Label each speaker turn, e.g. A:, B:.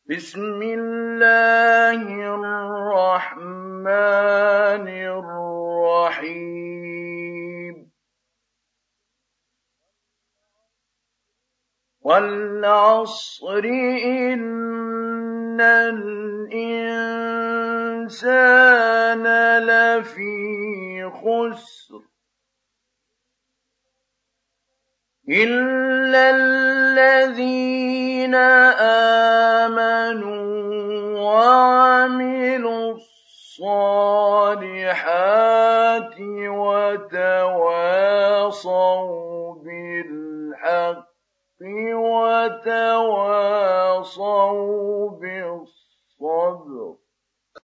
A: بسم الله الرحمن الرحيم والعصر إن الإنسان لفي خسر إلا الذين آمنوا وعملوا الصالحات وتواصوا بالحق وتواصوا